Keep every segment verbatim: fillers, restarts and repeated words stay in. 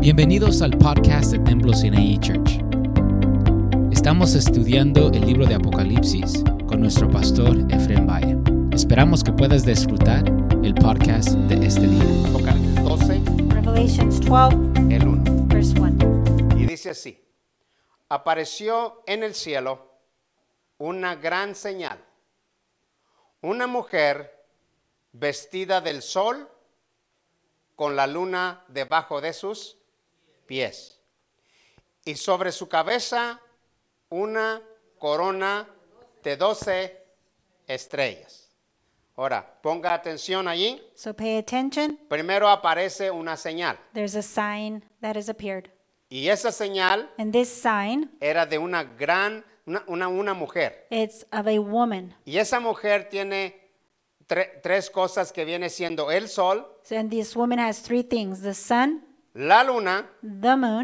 Bienvenidos al podcast de Templo Sinaí Church. Estamos estudiando el libro de Apocalipsis con nuestro pastor Efrén Valle. Esperamos que puedas disfrutar el podcast de este día. Apocalipsis doce, Revelations twelve, el uno. verse one. Y dice así: apareció en el cielo una gran señal, una mujer vestida del sol con la luna debajo de sus pies, y sobre su cabeza una corona de doce estrellas. Ahora, ponga atención allí. So pay attention. Primero aparece una señal, There's a sign that has appeared. y esa señal And this sign, era de una gran, una, una, una mujer. it's of a woman. Y esa mujer tiene tre- tres cosas que viene siendo el sol, So, and this woman has three things: the sun, la luna the moon,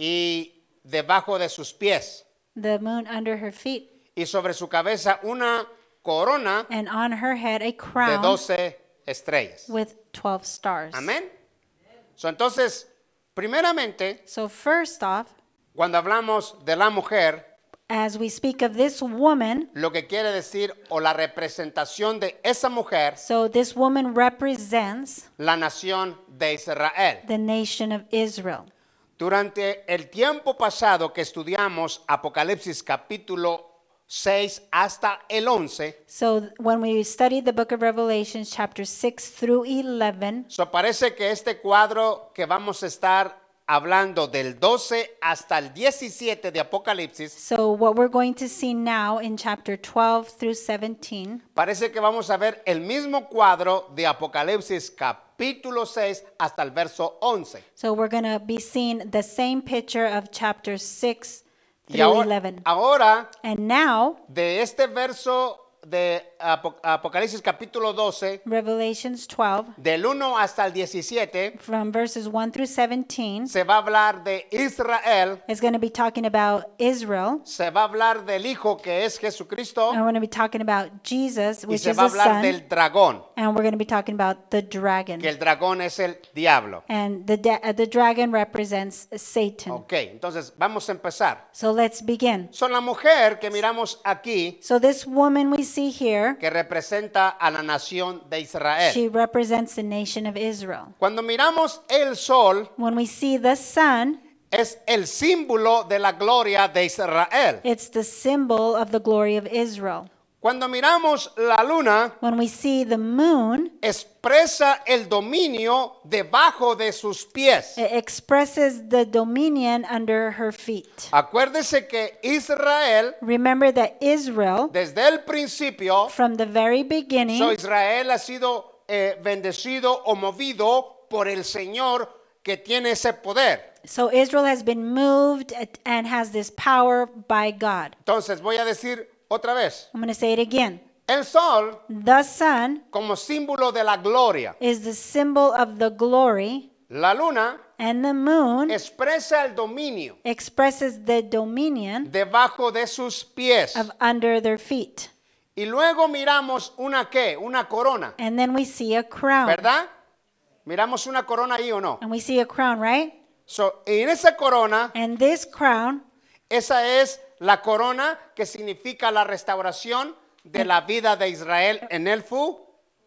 y debajo de sus pies. the moon under her feet, Y sobre su cabeza una corona and on her head a de crown doce estrellas. with twelve stars. Amén. So, entonces, primeramente, So first off, cuando hablamos de la mujer, as we speak of this woman, lo que quiere decir o la representación de esa mujer, so this woman represents la nación de Israel. the nation of Israel. Durante el tiempo pasado que estudiamos Apocalipsis capítulo seis hasta el once, So when we studied the book of Revelation, chapter six through eleven, so parece que este cuadro que vamos a estar hablando del doce hasta el diecisiete de Apocalipsis, so what we're going to see now in chapter twelve through seventeen, parece que vamos a ver el mismo cuadro de Apocalipsis capítulo seis hasta el verso once. so we're going to be seeing the same picture of chapter six Y through ahora, eleven. ahora And now, de este verso de Apo- Apocalipsis capítulo doce, Revelations twelve, del uno hasta el diecisiete, from verses one through seventeen, se va a hablar de Israel, is going to be talking about Israel. se va a hablar del Hijo que es Jesucristo, And we're going to be talking about Jesus, y which se is va a the hablar Son. del dragón, And we're going to be talking about the dragon. que el dragón es el diablo. And the, da- uh, the dragon represents Satan. Ok, entonces vamos a empezar. So let's begin. Son la mujer que miramos aquí, So this woman we see here, que representa a la nación de Israel. she represents the nation of Israel. Cuando miramos el sol, When we see the sun, es el símbolo de la gloria de Israel. it's the symbol of the glory of Israel. Cuando miramos la luna, When we see the moon, expresa el dominio debajo de sus pies. it expresses the dominion under her feet. Acuérdese que Israel, Remember that Israel, desde el principio, from the very beginning, so Israel ha sido eh, bendecido o movido por el Señor que tiene ese poder. so Israel has been moved and has this power by God. Entonces voy a decir otra vez, I'm going to say it again. el sol The sun como símbolo de la gloria, is the symbol of the glory, la luna and the moon expresa el dominio expresses the dominion debajo de sus pies. of under their feet. Y luego miramos una qué, una corona, And then we see a crown. ¿verdad? Miramos una corona ahí o no. And we see a crown, right? So, en esa corona, And this crown, esa es la corona que significa la restauración de la vida de Israel en el futuro.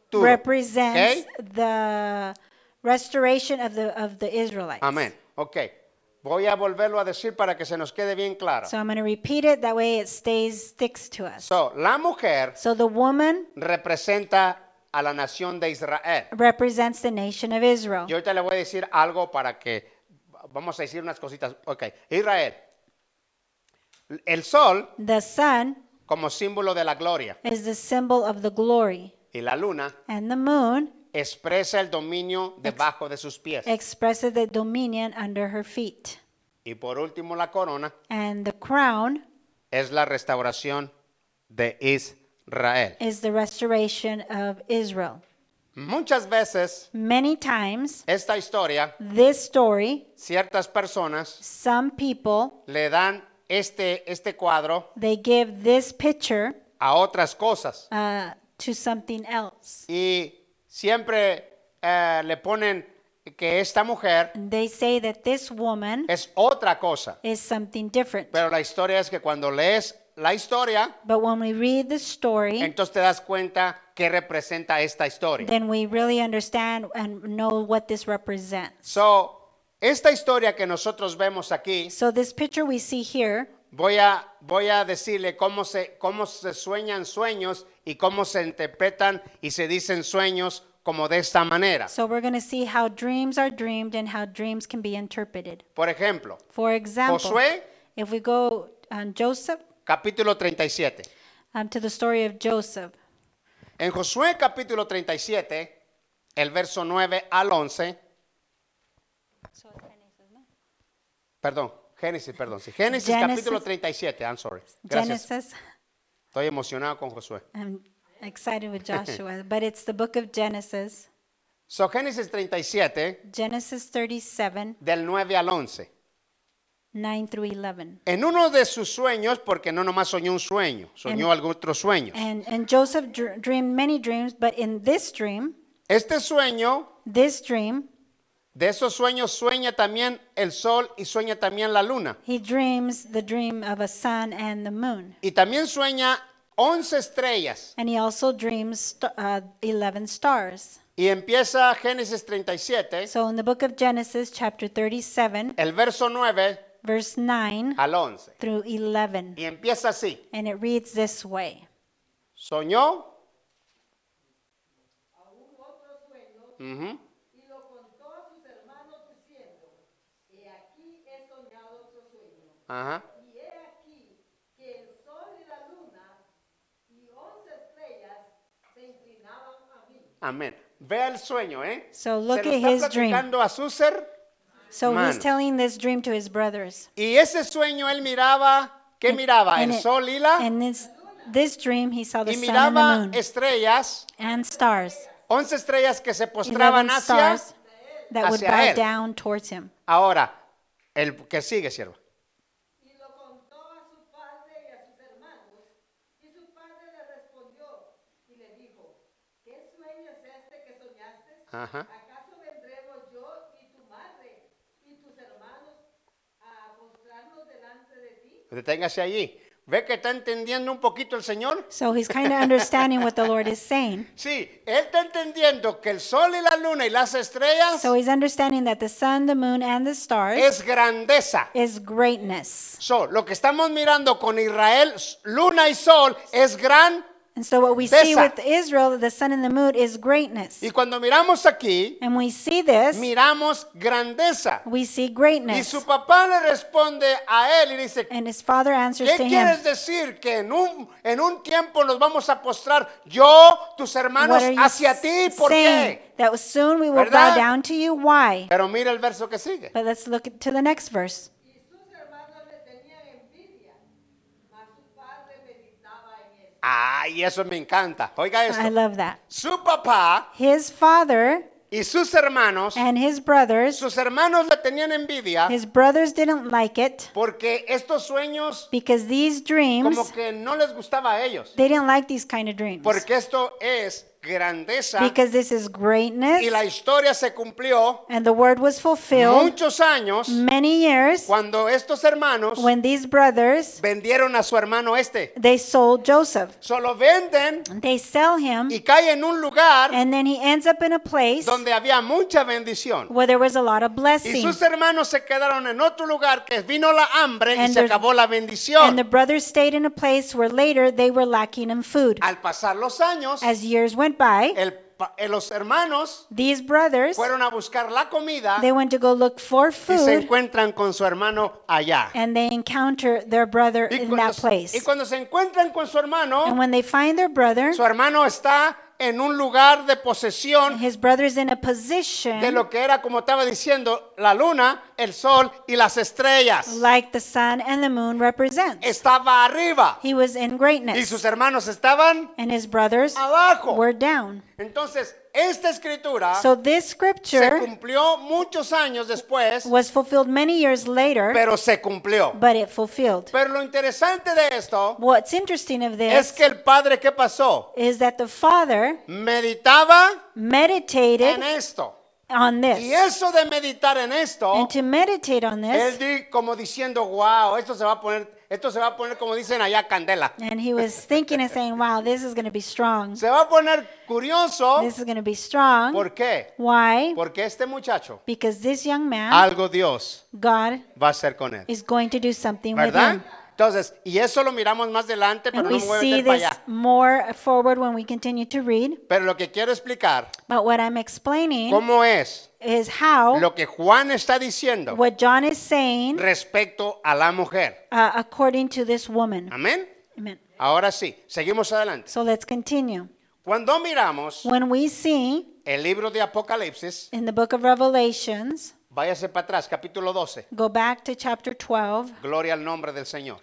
represents ¿Ok? the restoration of the of the Israelites. Amén. Ok. Voy a volverlo a decir para que se nos quede bien claro. So I'm going to repeat it that way it stays sticks to us. So, la mujer So the woman representa a la nación de Israel. represents the nation of Israel. Yo ahorita le voy a decir algo para que vamos a decir unas cositas. Ok. Israel. El sol The sun como símbolo de la gloria is the symbol of the glory, y la luna and the moon expresa el dominio debajo de sus pies. expresses the dominion under her feet. Y por último la corona And the crown es la restauración de Israel. is the restoration of Israel. Muchas veces Many times, esta historia, this story, ciertas personas some people, le dan este, este cuadro they give this picture a otras cosas uh, to something else. y siempre eh, le ponen que esta mujer They say that this woman es otra cosa. is something different. Pero la historia es que cuando lees la historia, But when we read the story, entonces te das cuenta qué representa esta historia. then we really understand and know what this represents. So, esta historia que nosotros vemos aquí, So this picture we see here, voy a, voy a decirle cómo se, cómo se sueñan sueños y cómo se interpretan y se dicen sueños como de esta manera. so we're going to see how dreams are dreamed and how dreams can be interpreted. Por ejemplo, For example, Josué, if we go on Joseph, capítulo treinta y siete. um, to the story of Joseph, En Josué capítulo treinta y siete, el verso nueve al once, perdón, Génesis, perdón, sí, Génesis Genesis. capítulo treinta y siete, I'm sorry. Gracias. Genesis, Estoy emocionado con Josué. I'm excited with Joshua, but it's the book of Genesis, So, Génesis treinta y siete, Genesis thirty-seven, del nueve al once. nine through eleven. En uno de sus sueños, porque no nomás soñó un sueño, soñó And- algún otro sueño. And, and Joseph dr- dreamed many dreams, but in this dream, Este sueño, this dream, de esos sueños sueña también el sol y sueña también la luna. he dreams the dream of a sun and the moon. Y también sueña once estrellas. And he also dreams st- uh, eleven stars. Y empieza Génesis treinta y siete, So in the book of Genesis, chapter thirty-seven, el verso nueve verse nine al once. through eleven. Y empieza así. And it reads this way. Soñó. Ujú. Y lo contó a sus hermanos diciendo, he aquí he soñado otro sueño. Ajá. Y he aquí que el sol y la luna y once estrellas se inclinaban a mí. Amén. Vea el sueño, ¿eh? So look Se lo at está his dream. platicando a Suser. So Manos. he's telling this dream to his brothers. Y ese sueño él miraba, ¿qué miraba? And El it- sol y la. And this, this dream, he saw the Y sun and the miraba moon estrellas, and stars. once estrellas que se postraban eleven hacia. stars that would hacia bow él. down towards him. Ahora, el que sigue, sierva. Y lo contó a su padre y a sus hermanos. Y su padre le respondió y le dijo, ¿qué sueño es este que soñaste? Ajá. ¿Acaso vendremos yo y tu madre y tus hermanos a postrarnos delante de ti? Deténgase allí. ¿Ve que está entendiendo un poquito el Señor? So he's kind of understanding what the Lord is saying. Sí, él está entendiendo que el sol y la luna y las estrellas So he's understanding that the sun, the moon, and the stars es grandeza. is greatness. So, lo que estamos mirando con Israel, luna y sol, es gran. And so what we see Desa. with Israel, the sun and the moon, is greatness. Y cuando miramos aquí, And we see this, miramos grandeza. we see Y greatness. su papá le responde a él y dice, And his father answers ¿qué to him, quieres decir? Que en un, en un tiempo nos vamos a postrar yo, tus hermanos, what are you hacia ti. ¿Por saying? qué? That soon we will ¿Verdad? bow down to you. Why? Pero mira el verso que sigue. But let's look at- to the next verse. Y sus hermanos le tenían envidia, mas su padre meditaba en él. Ay, eso me encanta. Oiga I esto. love that. Su papá His father y sus hermanos, and his brothers, sus hermanos le tenían envidia his brothers didn't like it porque estos sueños because these dreams, como que no les gustaba a ellos. they didn't like these kind of dreams. Porque esto es grandeza Because this is greatness y la historia se cumplió and the word was fulfilled muchos años many years cuando estos hermanos when these brothers, vendieron a su hermano este. they sold Joseph. Solo venden They sell him y cae en un lugar and then he ends up in a place donde había mucha bendición. where there was a lot of Y blessing. sus hermanos se quedaron en otro lugar que vino la hambre y And se there's- acabó la And the bendición. brothers stayed in a place where later they were lacking in food. Al pasar los años, As years went by, el pa- eh, los hermanos these brothers, fueron a buscar la comida they went to go look for y se food encuentran con su hermano allá. and they encounter their brother Y in cuando, that place. y cuando se encuentran con su hermano, And when they find their brother, su hermano está en un lugar de posesión his brother's in a de position lo que era, como estaba diciendo, la luna, el sol y las estrellas. like the sun and the moon represents. Estaba arriba He was in y greatness sus hermanos estaban and his brothers abajo. were down. Entonces, esta escritura So this se scripture cumplió muchos años después, was fulfilled many years later, pero se cumplió. but it fulfilled. Pero lo interesante de esto What's interesting of es this que el padre, ¿qué pasó? is that the father Meditaba meditated en esto. on Y this eso de meditar en esto, and to meditate on él this. di como diciendo, wow, esto se va a poner, esto se va a poner como dicen allá candela. And he was thinking and saying, wow, this is going to be strong. Se va a poner curioso. This is going to be strong. ¿Por qué? Why? Porque este muchacho, Because this young man, algo Dios God va a hacer con él. is going to do something with ¿Verdad? him. Entonces, y eso lo miramos más adelante, pero And no we me voy a see meter para this allá. more forward when we continue to read. Pero lo que quiero explicar, But what I'm explaining cómo es is how lo que Juan está diciendo what John is saying respecto a la mujer. uh, according to this woman. Amén. Amen. Ahora sí, seguimos adelante. So let's continue. Cuando miramos When we see el libro de Apocalipsis, in the book of Revelations, váyase para atrás, capítulo doce. go back to chapter twelve. Gloria al nombre del Señor.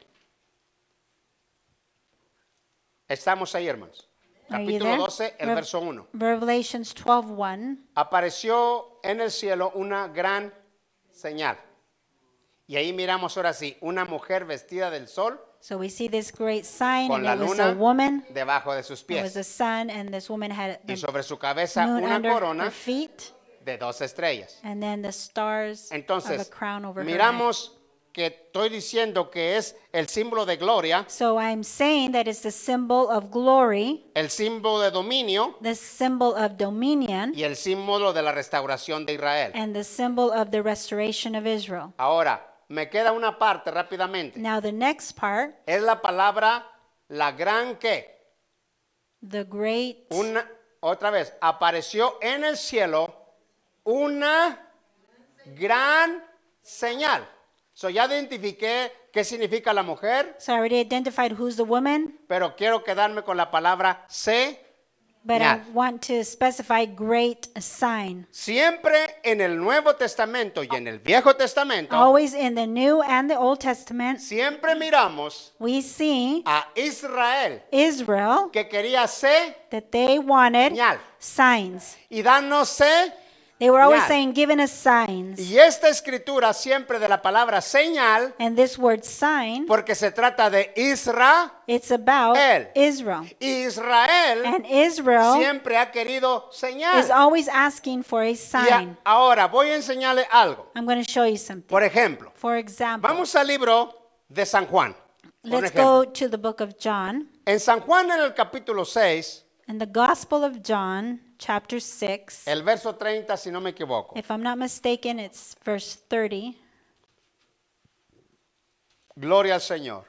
Estamos ahí, hermanos. Are you Capítulo there? doce, el Rev- verso uno. Revelations twelve one. Apareció en el cielo una gran señal. Y ahí miramos ahora sí, una mujer vestida del sol So we see this great sign, con and la it was a luna woman. debajo de sus It was pies. the sun, and this woman had Y the sobre su cabeza moon una under her corona feet, de dos estrellas. and then the stars of a Entonces, crown over her head. miramos que estoy diciendo que es el símbolo de gloria, So I'm saying that it's the symbol of glory, el símbolo de dominio the symbol of dominion, y el símbolo de la restauración de Israel. and the symbol of the restoration of Israel. Ahora, me queda una parte rápidamente. Now the next part, Es la palabra la gran que. the great, Una, otra vez, apareció en el cielo una gran señal. So ya identifiqué qué significa la mujer, so I already identified who's the woman, pero quiero quedarme con la palabra se. but Yeah. I want to specify great sign. Siempre en el Nuevo Testamento y en el Viejo Testamento, Always in the New and the Old Testament, siempre miramos we see a Israel Israel que quería se that they wanted señal signs. y danos se. They were always Señal. saying, giving us signs. Y esta escritura siempre de la palabra señal, And this word sign, porque se trata de Israel. it's about El. Israel. Israel And Israel siempre ha querido is señal. always asking for a Y a- sign. ahora voy a enseñarle algo. I'm going to show you something. Por ejemplo, For example, vamos al libro de San Juan. Por let's ejemplo, go to the book of John. en San Juan en el capítulo seis, In the Gospel of John, chapter six, el verso treinta, si no me equivoco. if I'm not mistaken, it's verse thirty. Gloria al Señor.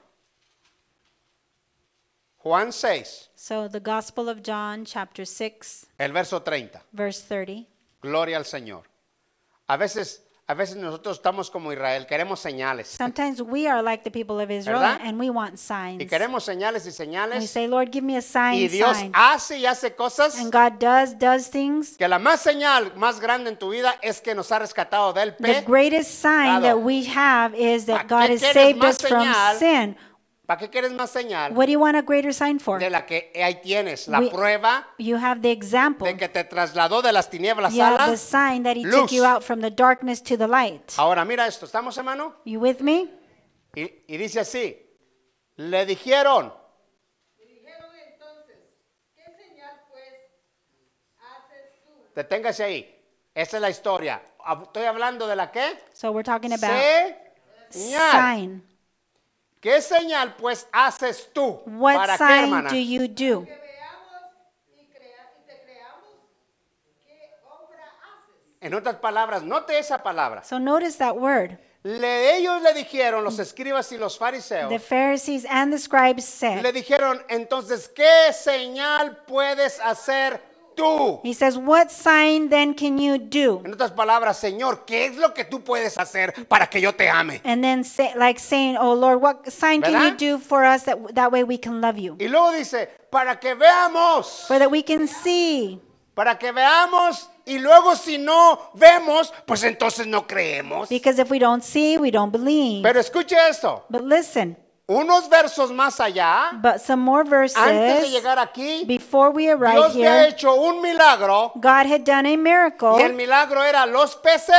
Juan seis, So the Gospel of John, chapter six, el verso treinta. verse thirty. Gloria al Señor. A veces, a veces nosotros estamos como Israel, queremos señales. Sometimes we are like the people of Israel, ¿Verdad? and we want signs. Y queremos señales y We señales. say, Lord, give me a sign, Y Dios sign. hace y hace cosas. And God does, does things. Que la más señal más grande en tu vida es que nos ha rescatado del The pe. greatest sign that Pecado. we have is that ¿Para God qué has quieres saved más us from señal? sin. ¿Para qué quieres más señal? What do you want a greater sign for? De la que ahí tienes la We- prueba You have the example. de que te trasladó de las tinieblas You a have la the sign that He luz. took you out from the darkness to the light. Ahora mira esto, ¿estamos hermano? You with me? Y, y dice así, le dijeron, Y dijeron entonces, ¿qué señal pues haces tú? deténgase ahí, esa es la historia. Hab- Estoy hablando de la qué? So we're talking about Señal. sign. ¿Qué señal pues haces tú? What ¿Para qué, sign hermana? do you do? Que veamos y, crea- y te creamos, ¿qué obra haces? En otras palabras, note esa palabra. So notice that word. Le, ellos le dijeron, los escribas y los fariseos, The Pharisees and the scribes said, le dijeron, entonces, ¿qué señal puedes hacer tú? He says, what sign then can you do? En otras palabras, Señor, ¿qué es lo que tú puedes hacer para que yo te ame? And then say, like saying, oh Lord, what sign can ¿Verdad? you do for us that, that way we can love you? Y luego dice, para que veamos, For that we can see. para que veamos, y luego si no vemos, pues entonces no creemos. Because if we don't see, we don't believe. Pero escuche esto, But listen, unos versos más allá, but some more antes de verses, llegar aquí, before we arrive Dios había here, hecho un milagro, God had done a miracle. y el milagro era los peces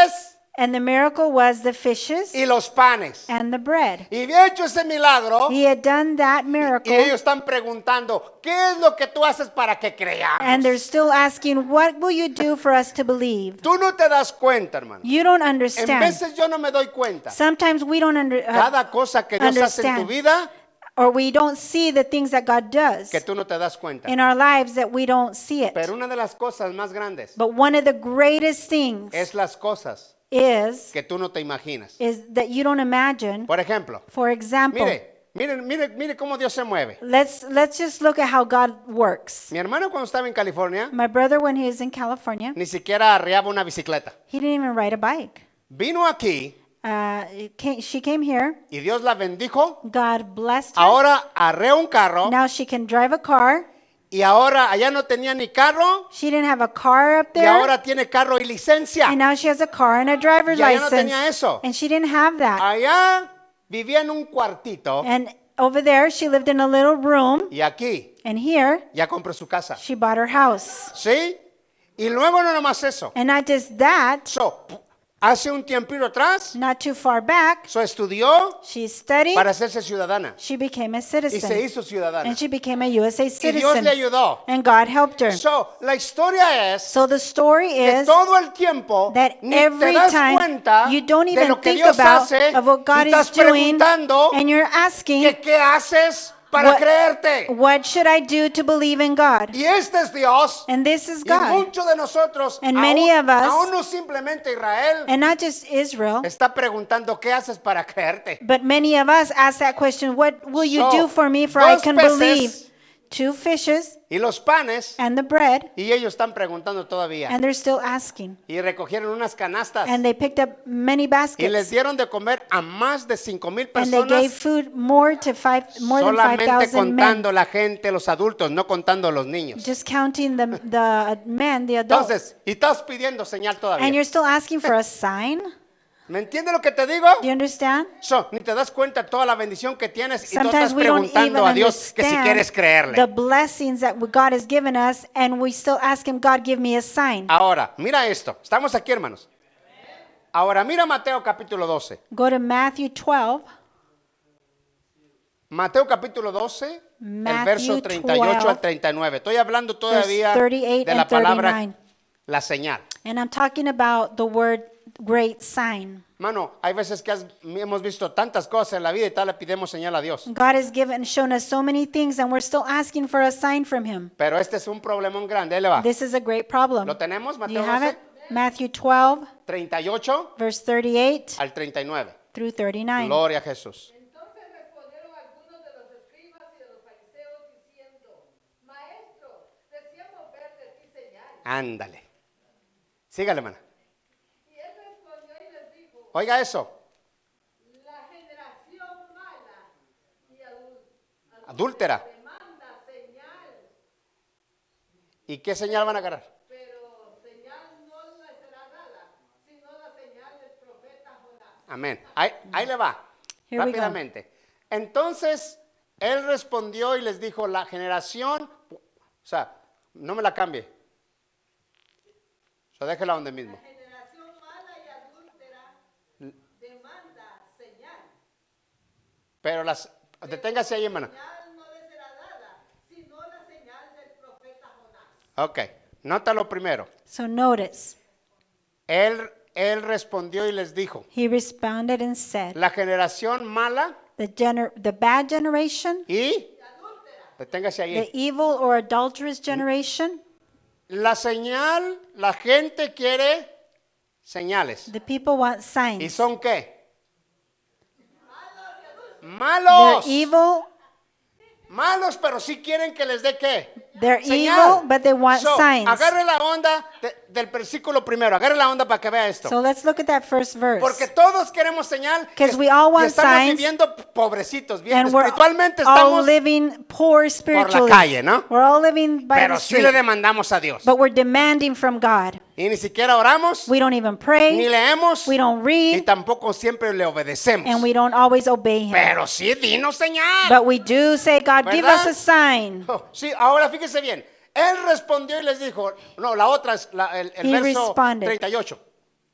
And the miracle was the fishes y los panes. and the bread. Y había hecho ese milagro. He had done that Y miracle. ellos están preguntando, ¿qué es lo que tú haces para que creamos? And they're still asking, what will you do for us to believe? Tú no te das cuenta, hermano. You don't En understand. veces yo no me doy cuenta. Sometimes we don't under, uh, Cada cosa que Dios hace en tu understand. vida, or we don't see the things that God does que tú no te das cuenta. in our lives that we don't see it. Pero una de las cosas más grandes But one of the greatest things es las cosas is que tú no te imaginas. is that you don't imagine. Por ejemplo, For example, mire, mire, mire, mire cómo Dios se mueve. let's let's just look at how God works. Mi hermano cuando estaba en California, My brother, when he was in California, ni siquiera arriaba una bicicleta. he didn't even ride a bike. Vino aquí Uh, it came, she came here. y Dios la bendijo. God blessed her. Ahora arrea un carro Now she can drive a car. y ahora allá no tenía ni carro She didn't have a car up y there. ahora tiene carro y licencia. And now she has a car and a driver's Y allá no license. tenía eso. And she didn't have that. Allá vivía en un cuartito And over there, she lived in a little room. y aquí And here, ya compró su casa. she bought her house. ¿Sí? Y luego no nomás eso. And not just that, So, hace un tiempito atrás, not too far back, so estudió she studied. para hacerse ciudadana She became a y se citizen. hizo ciudadana. And she became a U S A Y Dios citizen. le ayudó. And God helped her. So, la historia es So the story que is todo el tiempo that ni te every das time cuenta you don't de even lo que think Dios about hace of what God y is estás doing, preguntando and you're asking, que qué haces para What- creerte. what should I do to believe in God? Y este es Dios. And this is Y God. muchos de nosotros, And aún, many of us- aún no simplemente Israel, And not just Israel, está preguntando qué haces para creerte. but many of us ask that question, what will you So, do for me for I dos can peces believe? Two fishes Y los panes, and the bread, y ellos están preguntando todavía. and they're still asking. Y recogieron unas canastas And they picked up many y les baskets. dieron de comer a más de cinco mil And they gave personas, food more to five, more than five solamente thousand men. contando la gente, los adultos, no contando los niños. Just counting the, the men, the adults. Entonces, y estás pidiendo señal And todavía. you're still asking for a sign? ¿Me entiendes lo que te digo? Do you understand? So, ni te das cuenta toda la bendición que tienes y tú Sometimes estás we don't even preguntando a Dios que si quieres understand creerle. the blessings that God has given us, and we still ask Him, God, give me a sign. Ahora, mira esto. Estamos aquí, hermanos. Ahora, mira Mateo capítulo doce. Go to Matthew twelve. Mateo capítulo doce, el Matthew verso treinta y ocho twelve, al treinta y nueve. Estoy hablando todavía thirty-eight de la and palabra, thirty-nine. la señal. And I'm talking about the word great sign. Mano, hay veces que has- hemos visto tantas cosas en la vida y tal le pidemos señal a Dios. God has given, shown us so many things, and we're still asking for a sign from Him. Pero este es un problemón grande. Ahí le va. This is a great problem. ¿Lo tenemos, Do you Mateo have doce? it? Matthew twelve, treinta y ocho verse thirty-eight al treinta y nueve. through thirty-nine. Gloria a Jesús. Entonces respondieron algunos de los escribas y de los fariseos diciendo, Maestro, deseamos ver de ti señal. Ándale. Sígale, hermana. Y él respondió y les dijo, Oiga eso. la generación mala y adul- Adúltera. demanda señal, ¿Y qué señal van a agarrar? pero señal no le será dada, sino la señal del profeta Jonás. Amén. Ahí, ahí le va. Here we go. Rápidamente. Entonces, él respondió y les dijo, la generación, o sea, no me la cambie. O sea, déjela donde mismo. Generación mala y adúltera demanda señal. Pero las, deténgase ahí, hermana. Señal no le será dada, sino la señal del profeta Jonás. Ok, nota lo primero. So notice, Él, él respondió y les dijo, He responded and said, la generación mala the, gener- the bad generation, y, deténgase the ahí. evil or adulterous generation, La señal, la gente quiere señales. the people want ¿Y signs. son qué? They're Malos. evil, Malos, pero sí quieren que les dé qué? they're Señal. evil, but they want So, signs. agarre la onda de- del versículo primero. Agarre la onda para que vea esto. So let's look at that first verse. Porque todos queremos señal. 'Cause y- we all y want estamos signs. viviendo pobrecitos. Bien, And we're espiritualmente all estamos, living poor spiritually. calle, ¿no? We're all living by pero the sí street. le demandamos a Dios. But we're demanding from God. Y ni siquiera oramos, We don't even ni pray. leemos, We don't y read. tampoco siempre le obedecemos. And we don't always obey Him. Pero sí, dinos señal. But we do say, God, give us ¿Verdad? a sign. Oh, sí, ahora fíjese bien. Él respondió y les dijo, no, la otra es la- el, el He verso responded. treinta y ocho.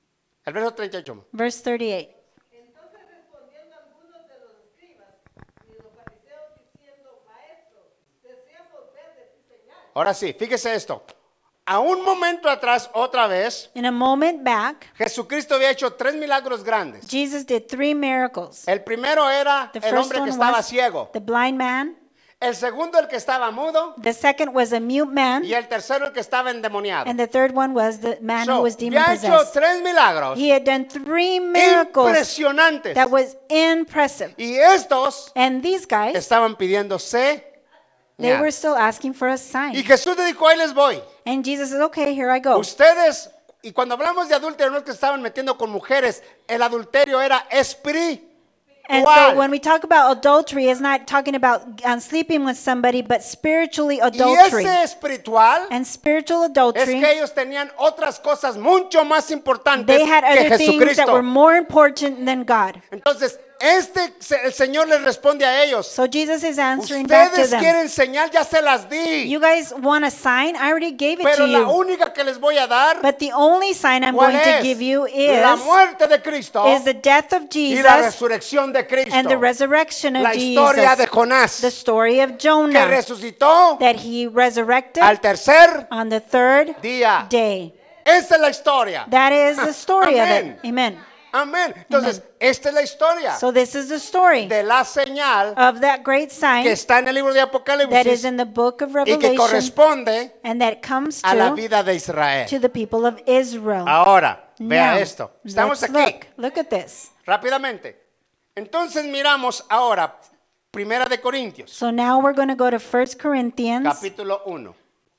El verso treinta y ocho. Verse thirty-eight. Entonces respondieron algunos de los escribas y de los fariseos diciendo, Maestro, deseamos ver de ti señal. Ahora sí, fíjese esto. A un momento atrás, otra vez, In a moment back, Jesucristo había hecho tres milagros grandes. Jesus did three miracles. El primero era The el first hombre que one estaba was ciego. the blind man. El segundo, el que estaba mudo. The second was a mute man. Y el tercero, el que estaba endemoniado. And the third one was the man So, who was demon había hecho possessed. tres milagros He had done three miracles impresionantes. that was impressive. Y estos And these guys, estaban pidiéndose. they were still asking for a Y sign. Jesús le dijo, ahí les voy. And Jesus said, okay, here I go. Ustedes, y cuando hablamos de adulterio, no es que estaban metiendo con mujeres, el adulterio era espiritual. And so when we talk about adultery, it's not talking about um, sleeping with somebody, but spiritually Y adultery. ese espiritual And spiritual es adultery, que ellos tenían otras cosas mucho más importantes they had que other things that Jesucristo. were more important than God. Entonces, este, el Señor les responde a ellos. So Jesus is answering back to Ustedes them. quieren señal, ya se las di. You guys want a sign? I already gave it Pero to la you. única que les voy a dar, But the only sign I'm ¿cuál going to es? give you La is, muerte de Cristo is the death of y la Jesus resurrección de Cristo. and the resurrection of La historia de Jesus. Jonás, The story of que Jonah, resucitó that he resurrected al tercer on the third día. day. Esa es la historia. That is the story of Amén. it. Amen. Amén. Entonces, esta es la historia So this is the story de la señal of that great que sign está en el libro de that is Apocalipsis in the book of y que Revelation corresponde and that comes a la to, vida de Israel. to the people of Israel. Ahora, vea Now, esto. Estamos let's aquí look. Look at this. rápidamente. Entonces miramos ahora Primera de Corintios, So now we're going to go to First Corinthians capítulo uno,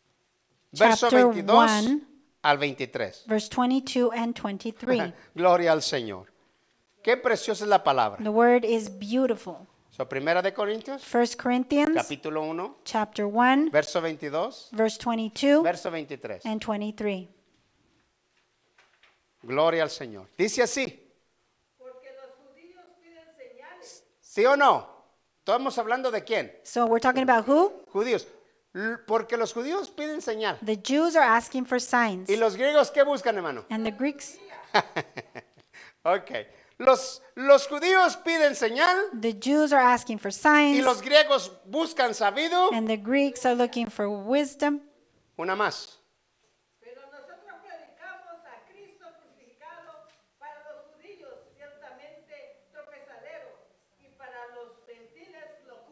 verso chapter veintidós one, al veintitrés. verse twenty-two and twenty-three. Gloria al Señor. Qué preciosa es la palabra. The word is beautiful. So, Primera de Corintios, First Corinthians capítulo uno, chapter one, verso veintidós, verse twenty-two verso veintitrés. and twenty-three. Gloria al Señor. Dice así, Porque los judíos piden señales. ¿sí o no? Estamos hablando de quién? So we're talking about who? Judíos. L- Porque los judíos piden señal. The Jews are asking for signs. ¿Y los griegos qué buscan, hermano? And the Greeks, Ok. Los, los judíos piden señal the Jews are asking for y signs. los griegos buscan sabido. And the Greeks are looking for wisdom. Una más. Pero nosotros predicamos a Cristo crucificado, para los judíos ciertamente tropezadero y para los gentiles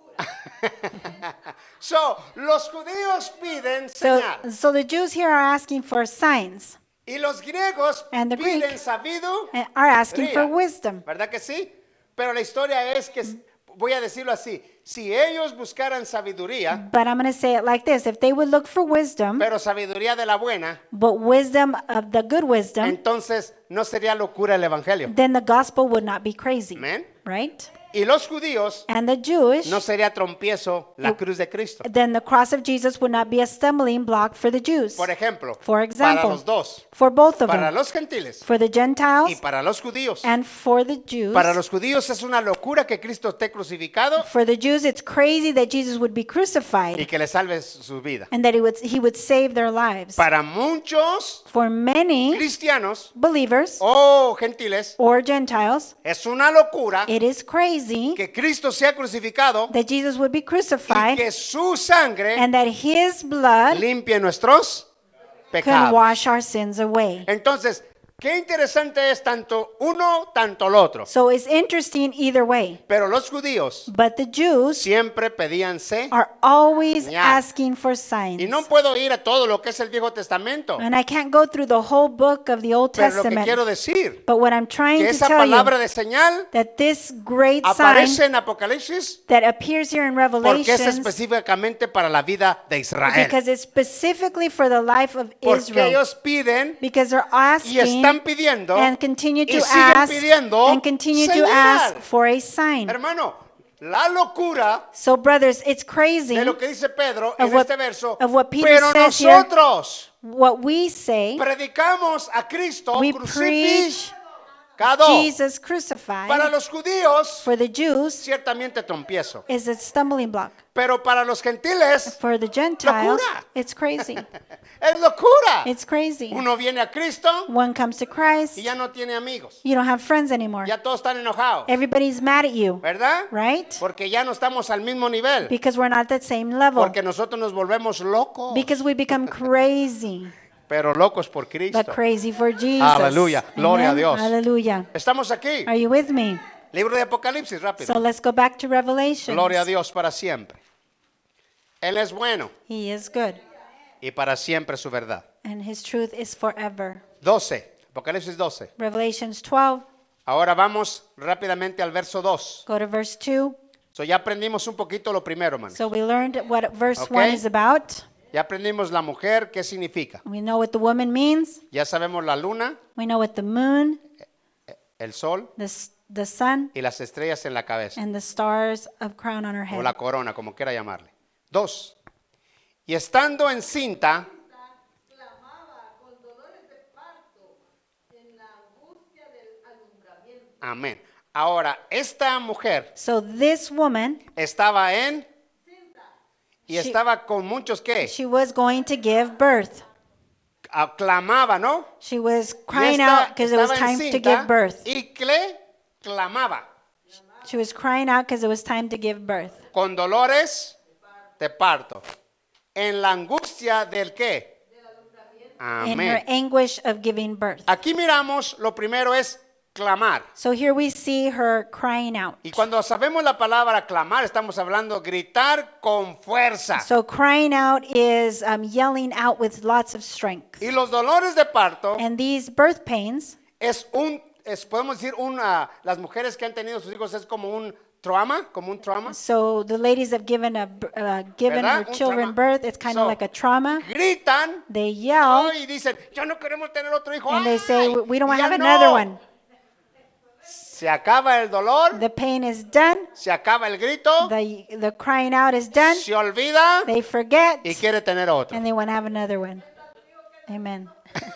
locura. So, los judíos piden So, señal so the Jews here are asking for signs y los griegos And the piden Greek sabido. and are asking for Ría. wisdom. ¿Verdad que sí? Pero la historia es que, voy a decirlo así, si ellos buscaran sabiduría, But I'm going to say it like this. If they would look for wisdom, pero sabiduría de la buena, but wisdom of the good wisdom, entonces no sería locura el evangelio. then the gospel would not be crazy. Amén. Right? Y los judíos And the Jewish, no sería trompiezo la cruz de Cristo. then the cross of Jesus would not be a stumbling block for the Jews. Por ejemplo, For para example, los dos, for both of para them, los gentiles for the y Gentiles para los judíos. and for the Jews. Para los judíos es una locura que Cristo esté crucificado For the Jews, it's crazy that Jesus would be y crucified que le salve su vida. and that he would, he would save their lives. Para muchos For many cristianos believers o gentiles or Gentiles, es una locura it is crazy que Cristo sea crucificado that Jesus would be y crucified que su sangre and that his blood limpie nuestros can pecados. wash our sins away. Entonces, qué interesante es tanto uno, tanto el otro. So it's interesting either way. Pero los judíos But the Jews siempre pedían se. are always Señal. asking for signs. Y no puedo ir a todo lo que es el Viejo Testamento. And I can't go through the whole book of the Old Pero lo que Testament. quiero decir, But what I'm trying que to esa tell palabra you, de señal that this great aparece sign en Apocalipsis that appears here in porque es Revelations, específicamente para la vida de Israel. because it's specifically for the life of Porque Israel. ellos piden Because they're y asking están pidiendo and continue y to siguen ask pidiendo and continue to señal. ask for a sign. Hermano, la locura So brothers, it's crazy de lo que dice Pedro of en what- este verso, of what Peter pero says here. nosotros what we say. predicamos a Cristo We crucificado. preach Jesus Para crucified los judíos, for the Jews ciertamente tropiezo. is a stumbling block. Pero para los gentiles, For the Gentiles, Locura. it's crazy. es locura. It's crazy. Uno viene a Cristo One comes to Christ, y ya no tiene amigos. you don't have friends anymore. Ya todos están enojados. Everybody's mad at you, ¿Verdad? right? Porque ya no estamos al mismo nivel. Because we're not at the same level. Porque nosotros nos volvemos locos. Because we become crazy, Pero locos por Cristo. but crazy for Jesus. Aleluya. Gloria a Amen. Dios. Hallelujah. Estamos aquí. Are you with me? Libro de Apocalipsis, rápido. So let's go back to Revelation. Gloria a Dios para siempre. Él es bueno He is good, y para siempre su verdad. and his truth is forever. doce. Apocalipsis doce. Revelations twelve, Ahora vamos rápidamente al verso dos. go to verse two. So ya aprendimos un poquito lo primero, hermanos. So we learned what verse Okay. one is about. Ya aprendimos la mujer, qué significa. We know what the woman means. Ya sabemos la luna, We know what the moon, el sol the, s- the sun, y las estrellas en la cabeza. and the stars of crown on her O head. la corona, como quiera llamarle. Dos. Y estando encinta, clamaba con dolores de parto en la angustia del alumbramiento. amén. Ahora, esta mujer So this woman, estaba en y She- estaba con muchos que she was going to give birth. clamaba, ¿no? She was Y crying esta out because it was estaba time to encinta give birth. y cle clamaba She was crying out because it was time to give birth. con dolores de parto. En la angustia del qué? In her Amén. anguish of giving birth. Aquí miramos, lo primero es clamar. So here we see her crying out. Y cuando sabemos la palabra clamar, estamos hablando gritar con fuerza. So crying out is um, yelling out with lots of strength. Y los dolores de parto And these birth pains, es un, es, podemos decir, una, las mujeres que han tenido sus hijos es como un trauma, como un trauma. so the ladies have given a b- uh, given ¿Verdad? her Un children trauma. birth. It's kind So, of like a trauma. Gritan They yell y dicen, ya no queremos tener otro hijo. and they say, ¡Ay! we don't Y have ya another no. one. Se acaba el dolor, The pain is done. se acaba el grito, The the crying out is done. se olvida They forget y quiere tener otro. and they want to have another one. Amen.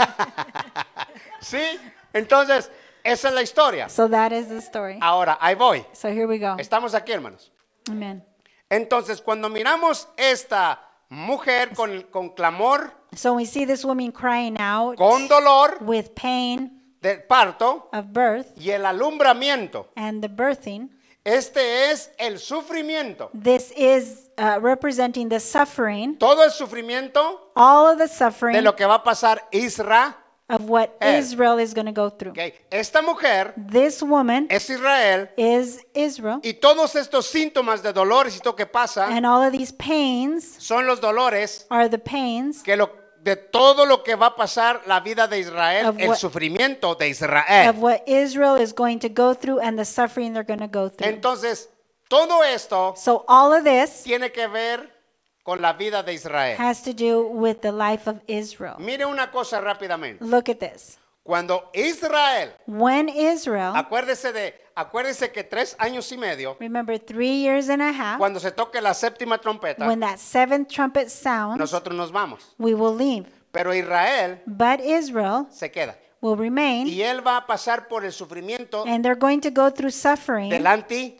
¿Sí? Entonces, esa es la historia. So that is the story. Ahora, ahí voy. So here we go. Estamos aquí, hermanos. Amen. Entonces, cuando miramos esta mujer con, con clamor, So we see this woman crying out con dolor with pain del parto of birth y el alumbramiento, and the birthing. este es el sufrimiento. This is uh, representing the suffering, Todo el sufrimiento all of the de suffering lo que va a pasar Israel. of what Eh. Israel is going to go through. ¿Ok? Esta mujer This woman es Israel is Israel, y todos estos síntomas de dolores y todo que pasa and all of these pains son los dolores are the pains que lo, de todo lo que va a pasar la vida de Israel, Of el what- sufrimiento de of Israel. what Israel is going to go through and the suffering they're going to go through. Entonces, todo esto So all of this tiene que ver con la vida de Israel. has to do with the life of Israel. Mire una cosa rápidamente. Look at this. Cuando Israel, When Israel, acuérdese de, acuérdese que tres años y medio, remember three years and a half, cuando se toque la séptima trompeta, when that seventh trumpet sounds, nosotros nos vamos. we will leave. Pero Israel But Israel se queda. will remain, Y él va a pasar por el sufrimiento and they're going to go through suffering del anti.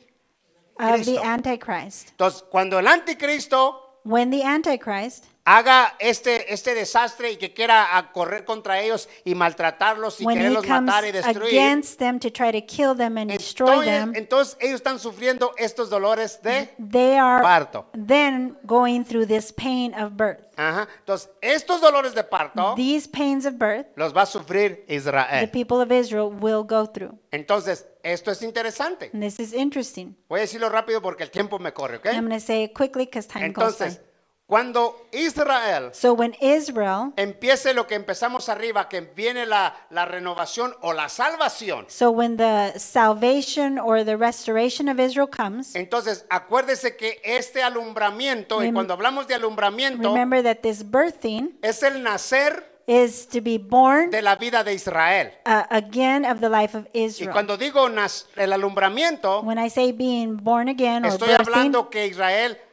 of the Cristo. Antichrist. Entonces, cuando el anticristo When the Antichrist haga este, este desastre y que quiera a correr contra ellos y maltratarlos y when he quererlos comes matar y destruir, against them to try to kill them and destroy entonces, them, entonces ellos están sufriendo estos dolores de they are parto. then going through this pain of birth. Ajá. Entonces, estos dolores de parto These pains of birth, los va a sufrir the Israel. people of Israel will go through. Entonces, esto es interesante. And this is interesting. Voy a decirlo rápido porque el tiempo me corre, ¿ok? I'm going to say it quickly because time goes by. Entonces, cuando Israel So when Israel, empiece lo que empezamos arriba, que viene la, la renovación o la salvación, so when the salvation or the restoration of Israel comes, entonces acuérdese que este alumbramiento, y Rem- cuando hablamos de alumbramiento, remember that this birthing es el nacer is to be born de la vida de Israel. uh, again of the life of Y Israel. cuando digo nas- el alumbramiento, When I say being born again or estoy birthing, hablando que Israel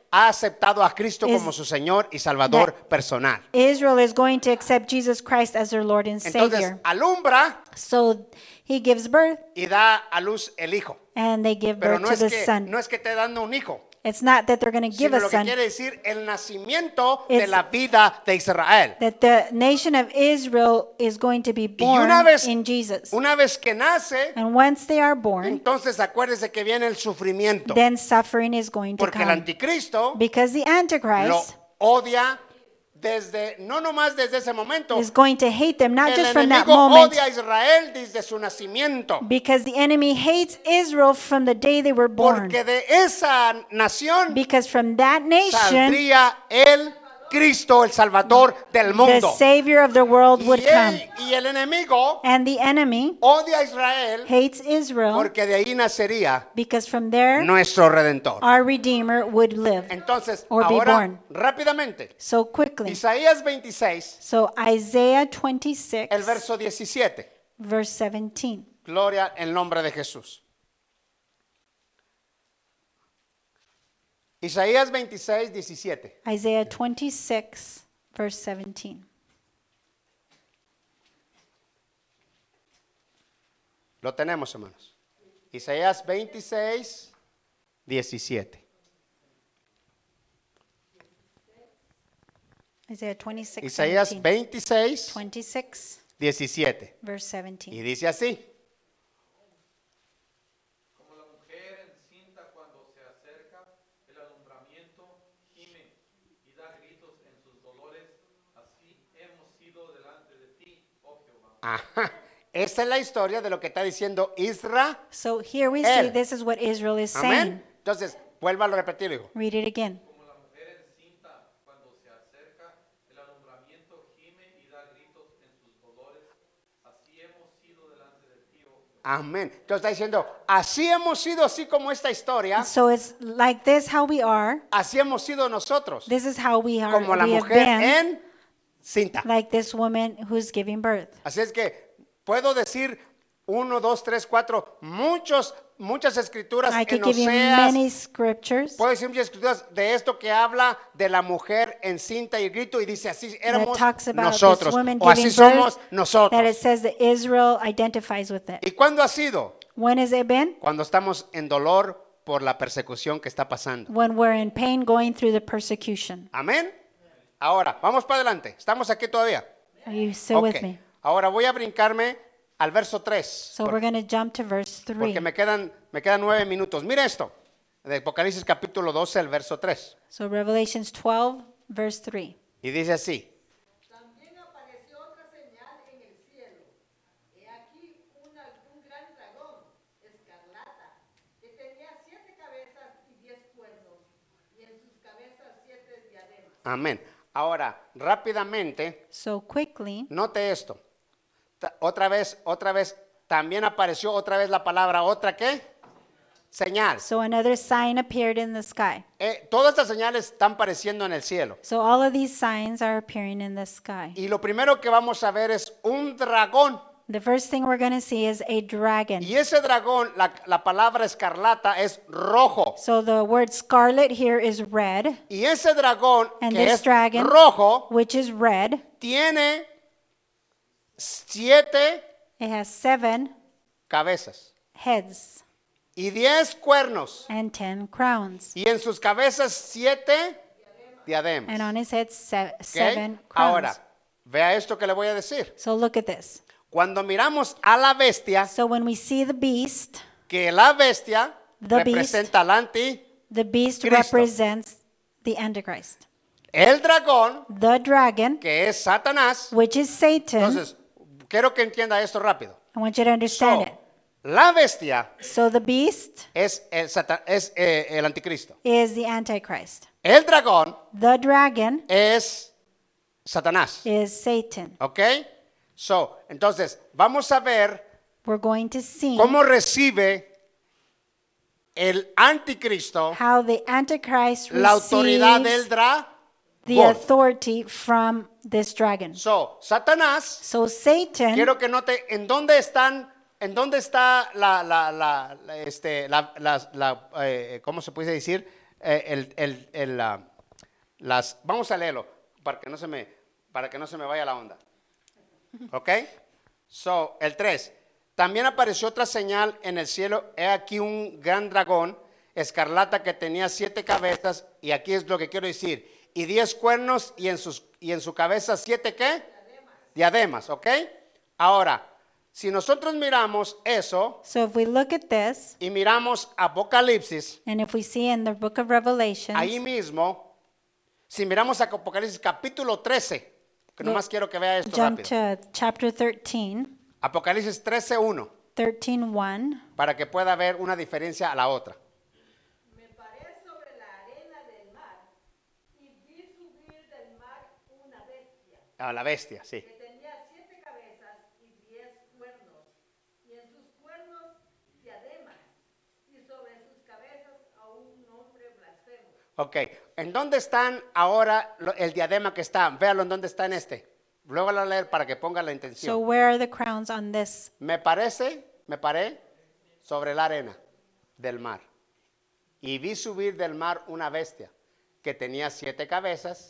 ha aceptado a Cristo is como su Señor y Salvador personal. Israel is going to accept Jesus Christ as their Lord and Entonces, Savior. alumbra So he gives birth y da a luz el hijo. and they give Pero birth no to es the que son. no es que esté dando un hijo, It's not that they're going to give sino a lo que son. quiere decir el nacimiento de It's- la vida de Israel. That the nation of Israel is going to be Y born una vez, in Jesus. una vez que nace, And once they are born, entonces acuérdese que viene el sufrimiento. then suffering is going to Porque el come. anticristo Because the lo Antichrist odia desde, no nomás desde ese momento. is going to hate them, not El just from that enemigo moment. odia a Israel desde su nacimiento. Because the enemy hates Israel from the day they were born. Porque de esa nación Because from that nation, saldría el Cristo, el Salvador del the mundo. Savior of the world Y, would come. él- y el enemigo And the enemy odia a Israel hates Israel porque de ahí nacería because from there, nuestro Redentor. our Redeemer would live. Entonces, or be ahora born. rápidamente, So quickly. Isaías veintiséis, So Isaiah twenty-six, el verso diecisiete. verse seventeen. Gloria en nombre de Jesús. Isaías veintiséis, diecisiete. Isaiah twenty-six, verse seventeen. Lo tenemos, hermanos. Isaías veintiséis, diecisiete. Isaiah twenty-six, Isaías seventeen. veintiséis, twenty-six, diecisiete. verse Y seventeen. dice así. Como la mujer encinta cuando se acerca el alumbramiento, gime y da gritos en sus dolores, así hemos sido delante de ti, oh Jehová. Ajá. Esta es la historia de lo que está diciendo Israel. So here we see Él. this is what Israel is saying. Amén. Entonces, vuélvalo a repetir, hijo. Read it again. Como la mujer encinta cuando se acerca el alumbramiento, gime y da gritos en sus dolores, así hemos sido delante de ti, oh Jehová. Amén. Entonces está diciendo, así hemos sido, así como esta historia, So it's like this how we are. así hemos sido nosotros, This is how we are. como la we have mujer been en cinta. like this woman who's giving birth. Así es que puedo decir uno, dos, tres, cuatro, muchos, muchas escrituras I en could give you Oseas. many scriptures Puedo decir muchas escrituras de esto que habla de la mujer en cinta y grito y dice así that éramos talks about nosotros this woman o así giving somos birth, that it nosotros. says that Israel identifies with it. ¿Y cuándo ha sido? When has it been? Cuando estamos en dolor por la persecución que está pasando. When we're in pain going through the persecution. Amén. Ahora, vamos para adelante. ¿Estamos aquí todavía? Are you still with Ok. me? Ahora voy a brincarme al verso tres. So we're going to jump to verse three. Porque me quedan, me quedan nueve minutos. Mira esto. De Apocalipsis capítulo doce, el verso tres. So Revelations twelve, verse three. Y dice así. También apareció otra señal en el cielo. He aquí una- un gran dragón, escarlata, que tenía siete cabezas y diez cuernos, y en sus cabezas siete diademas. Amén. Ahora, rápidamente, So quickly, note esto. Ta- Otra vez, otra vez, también apareció otra vez la palabra, ¿otra qué? Señal. so another sign appeared in the sky. Eh, todas estas señales están apareciendo en el cielo. So all of these signs are appearing in the sky. Y lo primero que vamos a ver es un dragón. The first thing we're going to see is a dragon. Y ese dragón, la, la palabra escarlata es rojo. So the word scarlet here is red, Y ese dragón, and que this es dragon, rojo, which is red, tiene siete it has seven cabezas heads y diez cuernos. and ten crowns. Y en sus cabezas siete diademas. And on his head, se- ¿Ok? seven crowns. Ahora, vea esto que le voy a decir. So look at this. Cuando miramos a la bestia, So when we see the beast, que la bestia The representa al anti, the beast Cristo. represents the Antichrist. el dragón, The dragon, que es Satanás. which is Satan, Entonces, quiero que entienda esto rápido. I want you to understand So, it. la bestia So the beast es el, Sata- es, eh, el anticristo. is the Antichrist. El dragón The dragon es Satanás. is Satan. ¿Ok? So, entonces, vamos a ver We're going to see cómo recibe el anticristo how the Antichrist la autoridad del receives dragón. the authority from this dragon. So, Satanás, So Satan, quiero que note en dónde están, en dónde está la, la, la, la, este, la, la- la, eh, ¿cómo se puede decir? eh, el, el, el, ah, las, vamos a leerlo para que no se me, para que no se me vaya la onda. ¿Ok? So, el tres. También apareció otra señal en el cielo. He aquí un gran dragón escarlata que tenía siete cabezas. Y aquí es lo que quiero decir. Y diez cuernos y en, sus, y en su cabeza siete ¿qué? Diademas. ¿Ok? Ahora, si nosotros miramos eso So if we look at this, y miramos Apocalipsis, and if we see in the book of Revelation, ahí mismo, si miramos a Apocalipsis capítulo trece, que nomás quiero que vea esto jump rápido. to chapter thirteen, Apocalipsis trece uno, thirteen one. para que pueda ver una diferencia a la otra. Me paré sobre la arena del mar y vi subir del mar una bestia A la bestia, sí. que tenía siete cabezas y diez cuernos, y en sus cuernos diademas, y sobre sus cabezas a un nombre blasfemo. Ok, ¿en dónde están ahora lo- el diadema que está? Véalo en dónde está en este. Luego lo voy a leer para que ponga la So intención. where are the crowns on this? Me parece, me paré sobre la arena del mar. Y vi subir del mar una bestia que tenía siete cabezas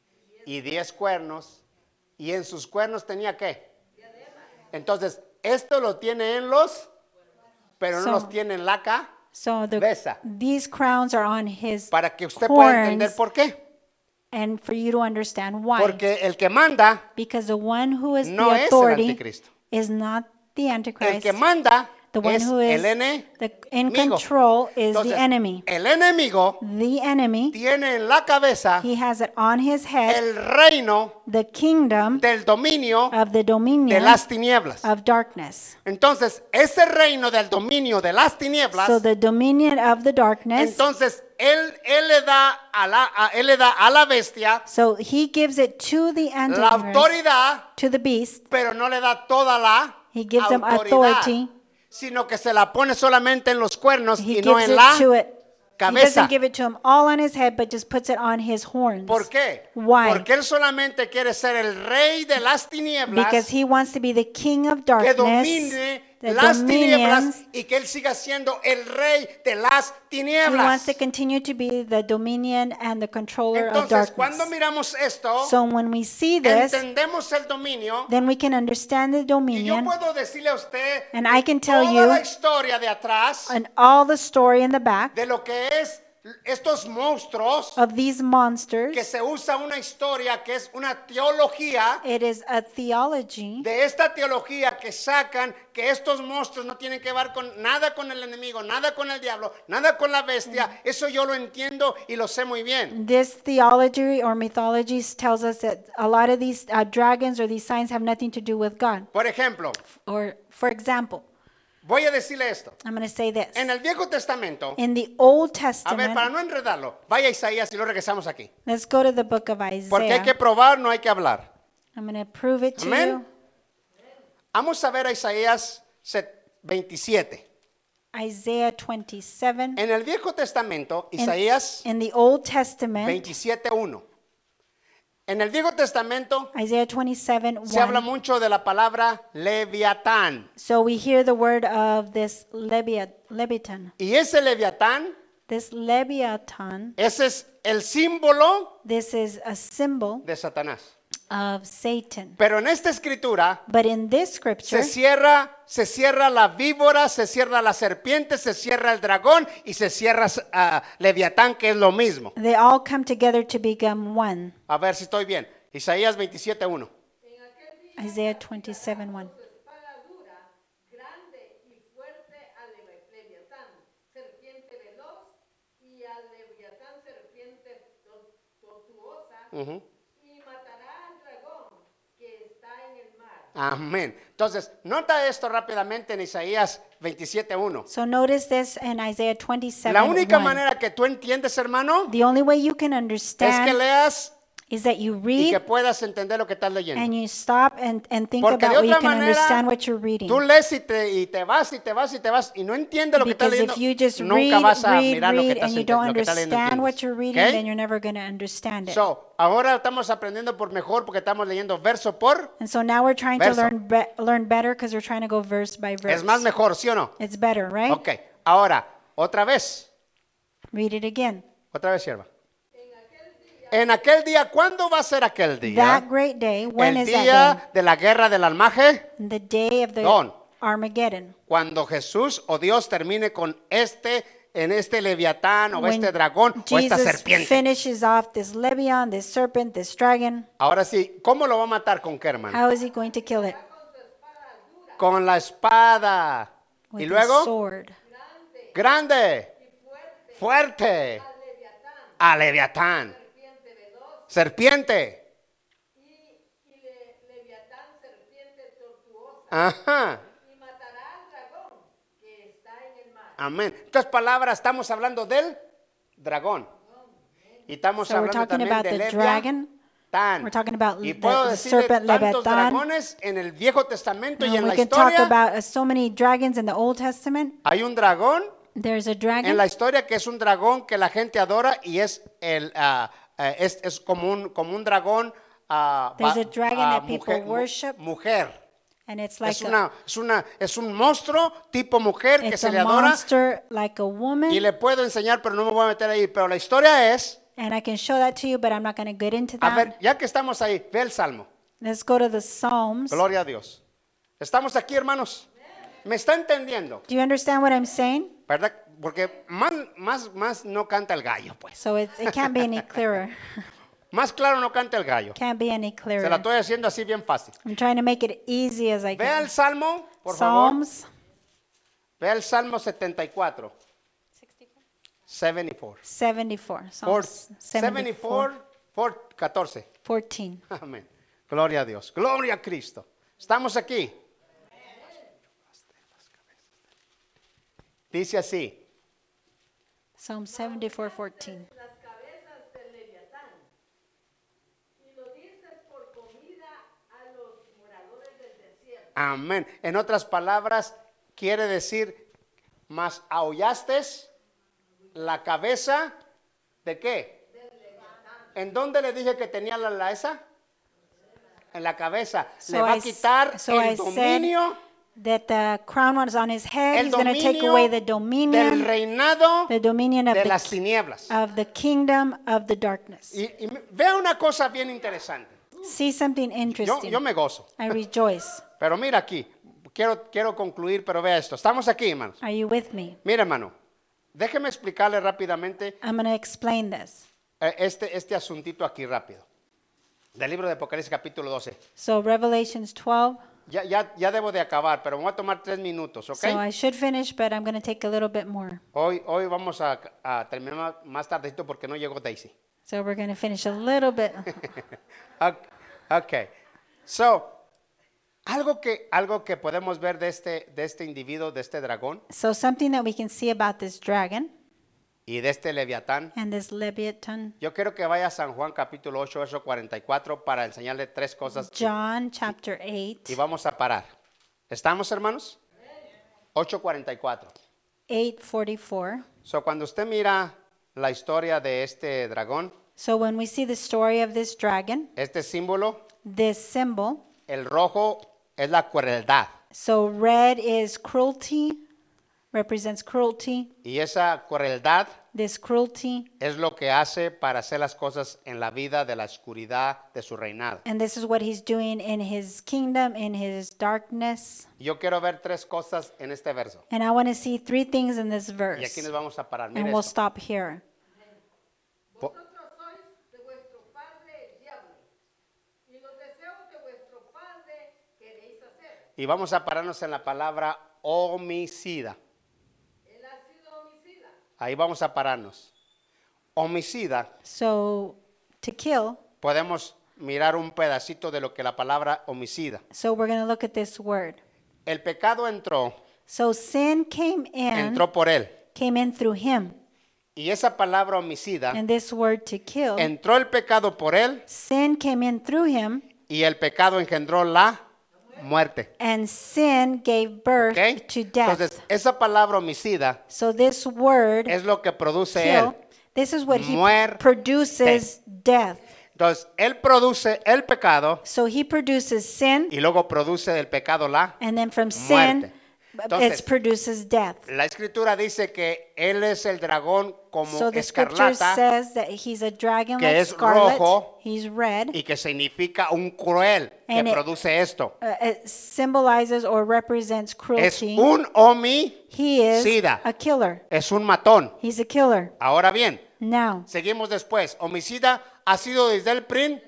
y diez cuernos. Y en sus cuernos tenía ¿qué? Entonces, esto lo tiene en los, pero no So- los tiene en la cabeza. So the, Besa. these crowns are on his Para que usted pueda entender horns, por qué. and for you to understand why. Porque el que manda, Because the one who is no the es el authority anticristo. is not the el Antichrist. que manda The one es who is el enemigo. the, in control is Entonces, the enemy. el enemigo The enemy, tiene en la cabeza he has it on his head, el reino the kingdom del dominio of the de dominion las tinieblas. of darkness. Entonces, ese reino del dominio de las tinieblas, So the dominion of the darkness, entonces él, él le da a la a- él le da a la bestia so he gives it to the la Antichrist, autoridad, to the beast. pero no le da toda la He gives them autoridad, authority. sino que se la pone solamente en los cuernos He y no gives en it la to it. He cabeza. doesn't give it to him all on his head, but just puts it on his horns. ¿Por qué? Why? Porque él solamente quiere ser el rey de las tinieblas, Because he wants to be the king of que darkness, domine the las tinieblas dominions. y que él siga siendo el rey de las He wants tinieblas. to continue to be the dominion and the controller of Entonces, cuando darkness. miramos esto, So when we see this, entendemos el dominio. then we can understand the Y yo dominion puedo decirle a usted And de I can tell toda you- la historia de atrás and all the story in the back de lo que es estos monstruos, of these que monsters. se usa una historia que es una teología, It is a theology de esta teología que sacan que estos monstruos no tienen que ver con nada con el enemigo, nada con el diablo, nada con la bestia. Eso yo lo entiendo y lo sé muy bien. This theology or mythology tells us that a lot of these uh, dragons or these signs have nothing to do with God. Por ejemplo, Or, for example, voy a decirle esto. I'm going to say this. En el Viejo Testamento, In the Old a ver, para Testament, no enredarlo, vaya a Isaías y lo regresamos aquí. let's go to the book of Porque hay que Isaiah. probar, no hay que hablar. I'm going to prove it to Amén. you. Vamos a ver a Isaías veintisiete. Isaiah twenty-seven. En el Viejo Testamento, In, Isaías in the Old Testament, veintisiete uno. En el Viejo Testamento Isaiah twenty-seven, se habla one. mucho de la palabra Leviatán. So we hear the word of this Leviat- Leviathan. Y ese Leviatán, This Leviathan, ese es el símbolo this is a symbol de Satanás. of Satan. Pero en esta escritura But in this scripture, se cierra, se cierra la víbora, se cierra la serpiente, se cierra el dragón y se cierra ah, Leviatán, que es lo mismo. they all come together to become one. A ver si estoy bien. Isaías veintisiete uno. Isaiah twenty-seven, one. Su espada dura, grande y fuerte al Leve- Leviatán, serpiente veloz, y al Leviatán, serpiente tor- tortuosa, Ujú. y matará al dragón que está en el mar. Amén. Entonces, nota esto rápidamente en Isaías veintisiete uno. So notice this in Isaiah twenty-seven, La única one. manera que tú entiendes, hermano, The only way you can es que understand leas is that you y que read puedas entender lo que estás leyendo. and you stop and, and think Porque de about what you otra can understand manera, what you're reading. tú lees y te, y te vas y te vas y te vas y no entiendes lo que estás Because leyendo, if you just nunca read, vas a read, mirar lo que read, estás and you enten- don't lo que estás leyendo. understand what entiendes. you're reading, ¿Ok? then you're never going to understand it. So, ahora estamos aprendiendo por mejor porque estamos leyendo verso por. And so now we're trying verso. to learn be- learn better because we're trying to go verse by verse. Es más mejor, ¿sí o no? It's better, right? Ok, ahora, otra vez. Read it again. Otra vez, sierva. En aquel día, ¿cuándo va a ser aquel día? That great day, when El is that día de la guerra del almaje. day? The day of the Don. Armageddon. Cuando Jesús o Dios termine con este, en este leviatán o When este dragón o esta Jesus serpiente. finishes off this Leviathan, this serpent, this dragon, Ahora sí, ¿cómo lo va a matar? ¿Con qué, hermano? how is he going to kill it? Con la espada. With Y a luego, sword. grande, fuerte, a leviatán, serpiente. y, y le, Leviatán, serpiente tortuosa, Ajá. y matará al dragón que está en el mar. Amén. Entonces, palabras, estamos hablando del dragón. Y estamos So we're hablando talking también about de the dragon. Leviatán. We're talking about Y the- puedo the decir de serpent tantos Leviatán. dragones en el Viejo Testamento y And en we la can talk historia. about uh, so many dragons in the Old Testament. Hay un dragón There's a en dragon. la historia que es un dragón que la gente adora y es el ah, ah, es, es como un como un dragón ah, There's va- a dragon ah, that people mujer, mu- worship. mujer. And it's like Es a, una es una es un monstruo tipo mujer que it's se a le adora monster like a woman. y le puedo enseñar, pero no me voy a meter ahí, pero la historia es, And I can show that to you, but I'm not going to get into a that. ver, ya que estamos ahí, ve el Salmo. Let's go to the Psalms. Gloria a Dios. Estamos aquí, hermanos. ¿Me está entendiendo? Do you understand what I'm saying? ¿Verdad? Porque más, más, más no canta el gallo, pues. So it, it can't be any clearer. Más claro no canta el gallo. Can't be any Se la clearer. estoy haciendo así bien fácil. I'm trying to make it easy as I Vea can. el Salmo, por favor. Psalms Vea el Salmo setenta y cuatro. setenta y cuatro. seventy-four. Por- Psalms setenta y seventy-four. cuatro, por catorce. fourteen. Amén. Gloria a Dios. Gloria a Cristo. Estamos aquí. Dice así. Psalm seventy-four, fourteen. Las cabezas del Leviatán. Y lo dices por comida a los moradores del desierto. Amén. En otras palabras, quiere decir, mas aullaste la cabeza de qué? ¿En dónde le dije que tenía la, la esa? En la cabeza. So le va I a s- quitar so I el dominio, That the crown was on his head. el He's going to take dominio away the del dominion, reinado the dominion of de the, las tinieblas. of the kingdom of the darkness. Y, y me- vea una cosa bien interesante. See something Yo, interesting. yo me gozo. I rejoice. Pero mira aquí. Quiero, quiero concluir, pero vea esto. Estamos aquí, hermanos. Are you with me? Mira, hermano. Déjeme explicarle rápidamente I'm going to explain this. eh, este, este asuntito aquí rápido. Del libro de Apocalipsis capítulo doce. So Revelations twelve. Ya, ya, ya debo de acabar, pero me voy a tomar tres minutos, ¿ok? So I should finish, but I'm going to take a little bit more. Hoy, hoy vamos a, a terminar más tardecito porque no llegó Daisy. So we're going to finish a little bit. Ok. Ok. So, algo que, algo que podemos ver de este, de este individuo, de este dragón So something that we can see about this dragon y de este leviatán. and this Leviathan. Yo quiero que vaya a San Juan capítulo ocho, verso cuarenta y cuatro para enseñarle tres cosas John chapter eight, y vamos a parar. ¿Estamos, hermanos? ocho cuarenta y cuatro. eight forty-four. So, cuando usted mira la historia de este dragón, So when we see the story of this dragon, este símbolo, this symbol, el rojo es la crueldad. so red is cruelty, represents cruelty. Y esa crueldad This cruelty, es lo que hace para hacer las cosas en la vida de la oscuridad de su reinado. and this is what he's doing in his kingdom, in his darkness. Yo quiero ver tres cosas en este verso. And I want to see three things in this Y verse. aquí nos vamos a parar. And Mire we'll esto. stop here. Po- Vosotros sois de vuestro padre el diablo, y los deseos de vuestro padre queréis hacer. Y vamos a pararnos en la palabra homicida. Él ha sido homicida, Ahí vamos a pararnos. Homicida, So to kill, podemos mirar un pedacito de lo que la palabra homicida. so we're going to look at this word. El pecado entró, So sin came in, entró por él. came in through him. Y esa palabra homicida, And this word to kill, entró el pecado por él sin came in through him, y el pecado engendró la muerte. and sin gave birth ¿Ok? to death. Entonces, esa palabra homicida So this word, es lo que produce kill, él. this is what he Muerte. produces death. Entonces, él produce el pecado So he produces sin, y luego produce del pecado la and then from muerte. sin, It Entonces, produces death. la escritura dice que él es el dragón como So the scripture escarlata says that he's a dragon que like es scarlet. rojo He's red. y que significa un cruel que And it- produce esto. Uh, it symbolizes or represents Es cruelty. un homicida, He is a killer. es un matón. He's a killer. Ahora bien, Now, seguimos después. Homicida ha sido desde el principio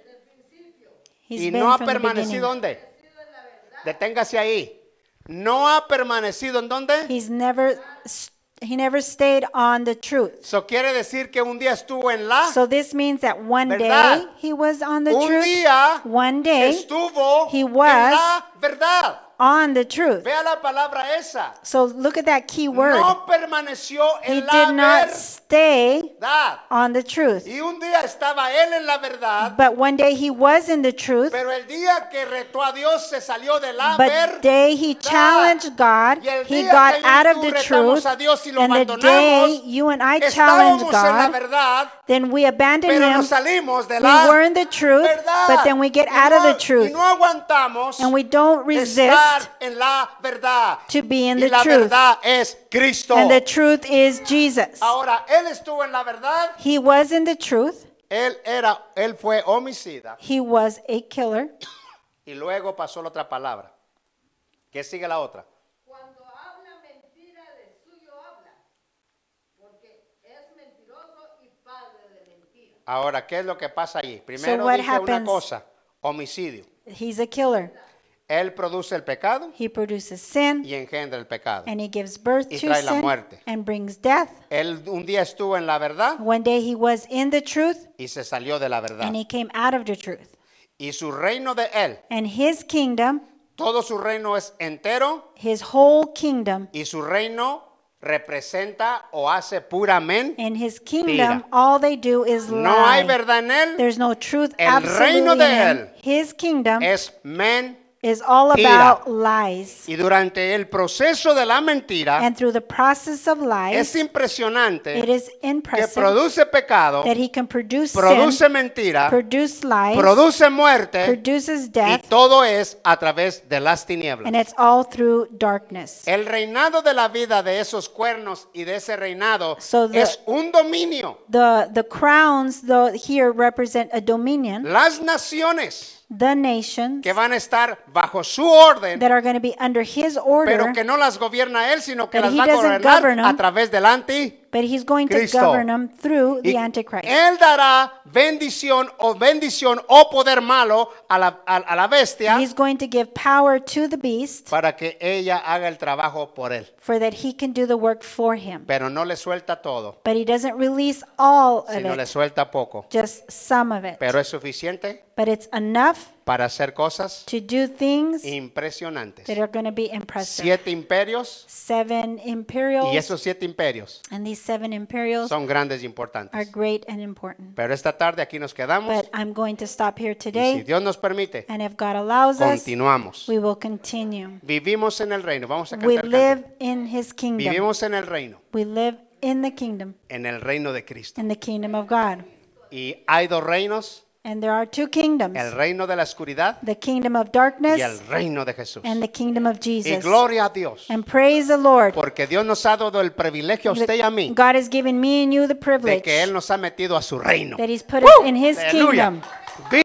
he's y been no ha from the permanecido beginning. ¿dónde? Deténgase ahí. No ha permanecido en dónde. He's never, s- he never stayed on the truth. Eso quiere decir que un día estuvo en la. So this means that one ¿Verdad? day he was on the un truth. día One day estuvo he en was la verdad. on the truth. Vea la palabra esa. So look at that key word. No permaneció He en la did not stay verdad. on the truth. Y un día estaba él en la verdad, But one day he was in the truth. pero el día que retó a Dios se salió de la But verdad. day he challenged God, Y el he día got que yo y out of tú the retamos truth. a Dios y lo And the abandonamos, day you and I challenged estábamos en la God, verdad, then we abandoned pero him. nos salimos de We la were in the truth, verdad. but then we get Y out no- of the truth. Y no aguantamos And we don't resist estar en la verdad. to be in Y the la truth. verdad es Cristo. And the truth is Jesus. Ahora, él estuvo en la verdad. He was in the truth. Él era, él fue homicida. He was a killer. Y luego pasó la otra palabra. ¿Qué sigue la otra? Cuando habla mentira, de suyo habla, porque es mentiroso y padre de mentira. Ahora, ¿qué es lo que pasa allí? Primero what dije una happens- cosa, homicidio. He's a killer. Él produce el pecado He produces sin y engendra el pecado. and he gives birth Y to trae la sin muerte. and brings death. Él un día estuvo en la verdad One day he was in the truth y se salió de la verdad. and he came out of the truth. Y su reino de él, And his kingdom, todo su reino es entero his whole kingdom, y su reino representa o hace puramente. in his kingdom, Mira. all they do is No hay lie. verdad en él, There's no truth El absolutely reino in de him. él His kingdom es mentira. is all mentira. about lies. Y durante el proceso de la mentira And through the process of es lies, impresionante it is que impressive produce pecado, that he can produce produce sin, mentira, produce lies, produce muerte produces y death, todo es a través de las tinieblas. and it's all through darkness. El reinado de la vida de esos cuernos y de ese reinado So the- es un dominio. The the crowns though here represent a dominion, Las naciones the nations que van a estar bajo su orden, that are going to be under his pero order, que no las gobierna él, sino que But las he va a doesn't gobernar govern them. a través del anti. but he's going to Cristo. govern them through Y the Antichrist. él dará bendición o bendición o poder malo a la, a, a la bestia He's going to give power to the beast para que ella haga el trabajo por él. for that he can do the work for him. Pero no le suelta todo, But he doesn't release all of sino le it, suelta poco. just some of it. Pero es suficiente But it's enough para hacer cosas to do things impresionantes. that are going to be impressive. Siete imperios Seven imperials, y esos siete imperios and these seven imperials son grandes y are importantes. great and important. Pero esta tarde aquí nos quedamos But I'm going to stop here y si today, Dios nos permite, and if God allows us, continuamos. we will continue. Vivimos en el reino. Vamos a We cantar. live canto. in his kingdom. Vivimos en el reino, We live in the kingdom, en el reino de Cristo. in the kingdom of God. Y hay dos reinos, And there are two kingdoms, el reino de la oscuridad the kingdom of darkness y el reino de Jesús. and the kingdom of Y Jesus. gloria a Dios, And praise the Lord. porque Dios nos ha dado el privilegio a usted y a mí God has given me and you the de privilege que Él nos ha metido a su reino. that he's put us in his Aleluya. kingdom.